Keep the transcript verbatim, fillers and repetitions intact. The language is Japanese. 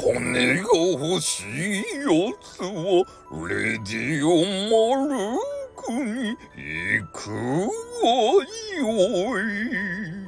金が欲しいやつはレディオマルクに行くがよい。